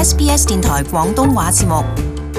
SBS 電台廣東話節目。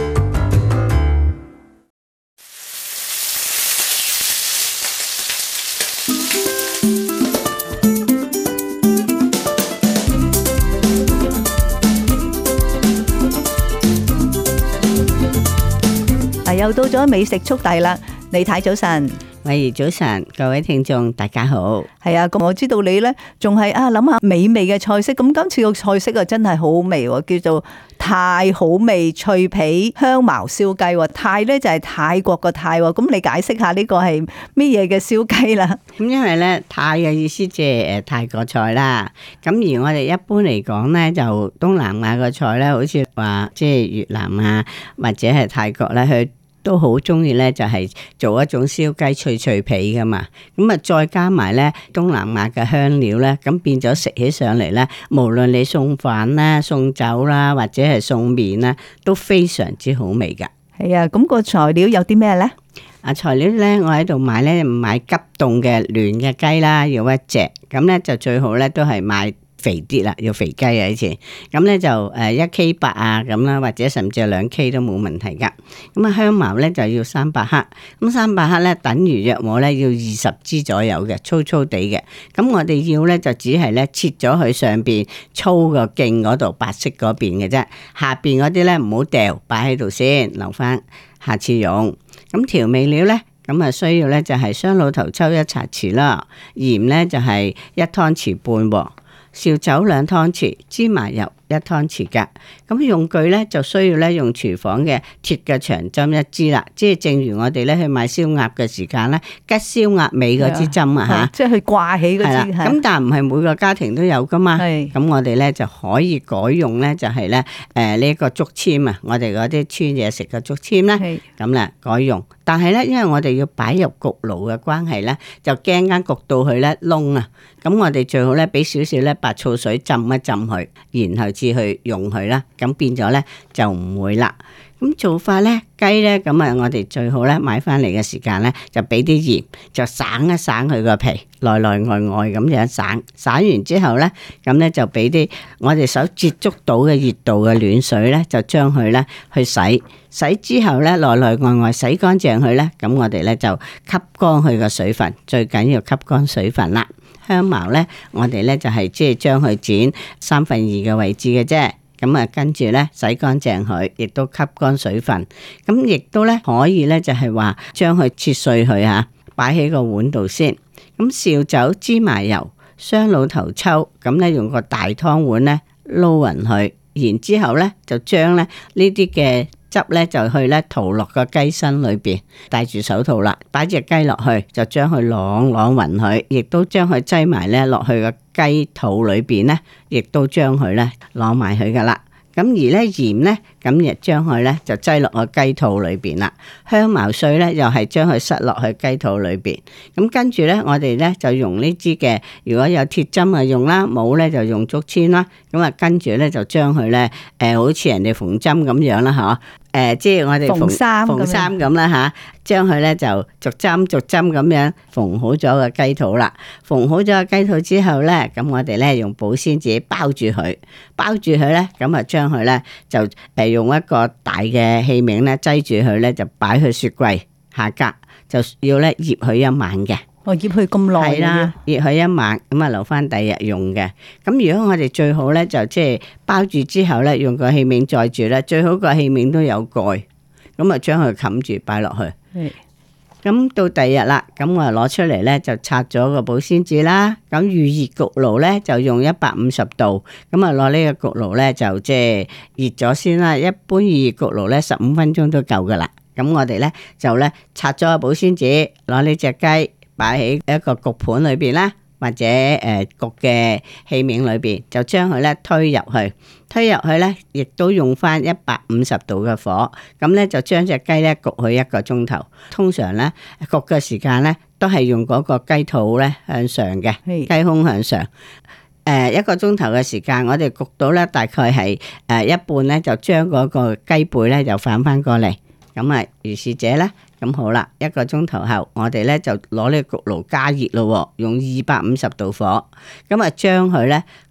又到咗美食速遞啦，李太早晨。 喂，早晨，各位聽眾大家好。 係啊，咁我知道你呢仲係諗下美味嘅菜式，咁今次個菜式啊真係好好味喎，叫做泰好味脆皮香茅燒雞。泰呢就係泰國個泰，咁你解釋下呢個係咩嘢嘅燒雞啦？ 咁因為咧泰嘅意思即係泰國菜啦，咁而我哋一般嚟講咧就東南亞嘅菜咧，好似話即係越南啊或者係泰國咧，佢都好中意咧，就係做一種燒雞脆脆皮噶嘛，咁啊再加埋咧東南亞嘅香料咧，咁變咗食起上嚟咧，無論你送飯啦、送酒啦，或者係送麵啦，都非常之好味噶。 係啊，咁個材料有啲咩咧？ 材料咧，我喺度買咧，買急凍嘅嫩嘅雞啦，要一隻，咁咧就最好咧都係買肥啲啦，要肥雞啊！以前咁咧就1K8啊咁啦，或者甚至係2K 都冇問題噶。咁啊香茅咧就要300克，咁300克咧等於約莫咧要20支左右嘅，粗粗地嘅。咁我哋要咧就只係咧切咗佢上邊粗個莖嗰度白色嗰邊嘅啫，下邊嗰啲咧唔好掉，擺喺度先，留翻下次用。咁調味料咧，咁啊需要咧就係雙老頭抽1茶匙啦，鹽咧就係1湯匙半喎。紹酒2湯匙，芝麻油1湯匙噶。咁用具咧就需要咧用廚房嘅鐵嘅長針1支啦，即係正如我哋咧去買燒鴨嘅時間咧，吉燒鴨尾嗰支針啊吓， 即係去掛起嗰支。 咁但係唔係每個家庭都有噶嘛。咁我哋咧就可以改用咧就係咧呢個竹籤啊，我哋嗰啲穿嘢食嘅竹籤咧，咁咧改用。但係咧，因為我哋要擺入焗爐嘅關係咧，就驚間焗到佢咧燶啊。咁我哋最好咧俾少少咧白醋水浸一浸佢，然後至去用佢啦。咁變咗咧就唔會啦。咁做法咧，雞咧咁啊，我哋最好咧買翻嚟嘅時間咧，就俾啲鹽，就省一省佢個皮，內內外外咁樣省。省完之後咧，咁咧就俾啲我哋手接觸到嘅熱度嘅暖水咧，就將佢咧去洗。洗之後咧，內內外外洗乾淨佢咧，咁我哋咧就吸乾佢個水分，最緊要吸乾水分啦。香茅咧，我哋咧就係即係將佢剪2/3嘅位置嘅啫。咁啊，跟住咧洗乾淨佢，亦都吸乾水分。咁亦都咧可以咧就係話將佢切碎佢嚇，擺喺個碗度先。咁紹酒、芝麻油、雙老頭抽，咁咧用個大湯碗咧撈勻佢，然之後咧就將咧呢啲嘅汁咧就去咧塗落個雞身裏邊，戴住手套啦，擺隻雞落去，就將佢啷勻佢，亦都將佢擠埋咧落去個雞肚裏邊咧，亦都將佢咧攞埋佢噶啦。咁而咧鹽咧，咁亦將佢咧就擠落個雞肚裏邊啦。香茅碎咧又係將佢塞落去雞肚裏邊。咁跟住咧，我哋咧就用呢支嘅，如果有鐵針啊用啦，冇咧就用竹籤啦。咁啊跟住咧就將佢咧好似人哋縫針咁樣啦，嗬。即係我哋縫衫咁啦吓，將佢咧就逐針咁樣縫好咗個雞肚啦。縫好咗個雞肚之後咧，咁我哋咧用保鮮紙包住佢咧，咁啊將佢咧就用一個大嘅器皿咧擠住佢咧，就擺去雪櫃下格，就要咧醃佢1晚嘅。 醃佢咁耐係啦，醃佢1晚，咁啊留翻第2日用嘅。咁如果我哋最好咧就即係包住之後咧，用個器皿載住咧，最好個器皿都有蓋，咁啊將佢冚住擺落去。咁到第2日啦，咁我攞出嚟咧就拆咗個保鮮紙啦。咁預熱焗爐咧就用150度，咁啊攞呢個焗爐咧就即係熱咗先啦。一般預熱焗爐咧15分鐘都夠噶啦。咁我哋咧就咧拆咗個保鮮紙，攞呢隻雞擺喺一個焗盤裏邊啦，或者焗嘅器皿裏邊，就將佢咧推入去咧，亦都用翻150度嘅火，咁咧就將隻雞咧焗佢1個鐘頭。通常咧焗嘅時間咧都係用嗰個雞肚咧向上嘅，雞胸向上。1個鐘頭嘅時間，我哋焗到咧大概係一半咧，就將嗰個雞背咧就反翻過嚟。咁啊，如是者咧。咁好啦，1個鐘頭後，我哋咧就攞呢個焗爐加熱咯，用250度火，咁啊將佢咧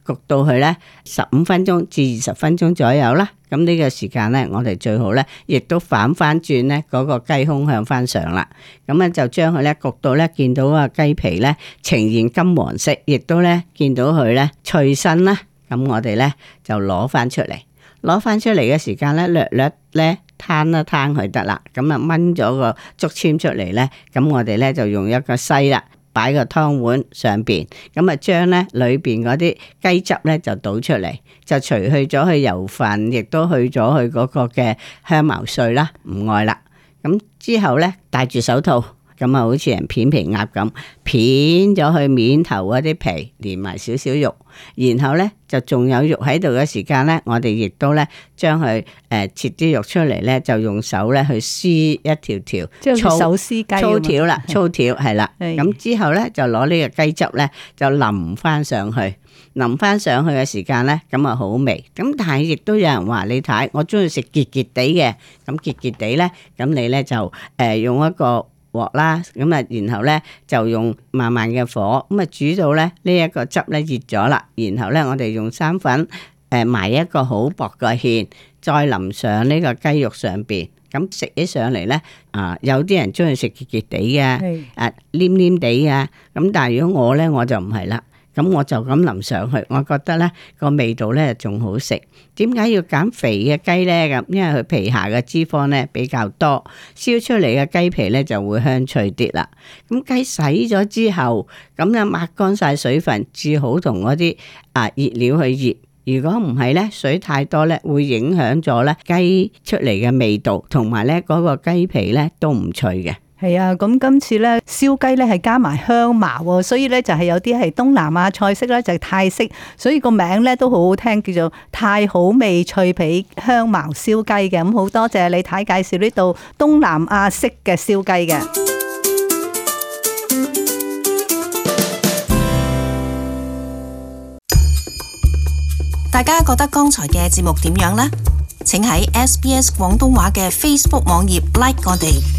焗到佢咧15分鐘至20分鐘左右啦。咁呢個時間咧，我哋最好咧，亦都反翻轉咧嗰個雞胸向翻上啦。咁咧就將佢咧焗到咧，見到個雞皮咧呈現金黃色，亦都咧見到佢咧脆身啦。咁我哋咧就攞翻出嚟，攞翻出嚟嘅時間咧，略略咧攤一攤佢得啦。咁啊炆咗個竹籤出嚟咧，咁我哋咧就用一個篩啦，擺個湯碗上邊，咁啊將咧裏邊嗰啲雞汁咧就倒出嚟，就除去咗佢油份，亦都去咗佢嗰個嘅香茅碎啦，唔愛啦。咁之後咧戴住手套，咁啊好似人片皮鴨咁，片咗佢面頭嗰啲皮，連埋少少肉，然後咧就仲有肉喺度嘅時間咧，我哋亦都咧將佢切啲肉出嚟咧，就用手咧去撕一條條， 即係手撕雞粗條啦，粗條係啦。咁之後咧就攞呢個雞汁咧就淋翻上去，淋翻上去嘅時間咧，咁啊好味。咁但係亦都有人話你睇，我中意食結結地嘅，咁結結地咧，咁你咧就用一個鑊啦，咁啊，然後咧就用慢慢嘅火，咁啊煮到咧呢一個汁咧熱咗啦，然後咧我哋用生粉埋一個好薄嘅芡，再淋上呢個雞肉上邊，咁食起上嚟咧有啲人中意食結結地嘅，黏黏地嘅，咁但係如果我咧我就唔係啦。咁我就咁淋上去，我覺得咧個味道咧仲好食。點解要揀肥嘅雞咧？咁因為佢皮下嘅脂肪咧比較多，燒出嚟嘅雞皮咧就會香脆啲啦。咁雞洗咗之後，咁咧抹乾晒水分，至好同嗰啲熱料去醃。如果唔係咧，水太多咧，會影響咗咧雞出嚟嘅味道，同埋咧嗰個雞皮咧都唔脆嘅。 係啊，咁今次咧燒雞咧係加埋香茅喎，所以咧就係有啲係東南亞菜式啦，就係泰式，所以個名咧都好好聽，叫做泰好味脆皮香茅燒雞嘅。咁好多謝李太介紹呢道東南亞式嘅燒雞嘅。 大家覺得剛才嘅節目點樣呢？請喺SBS 廣東話嘅 Facebook 網頁 like 我哋。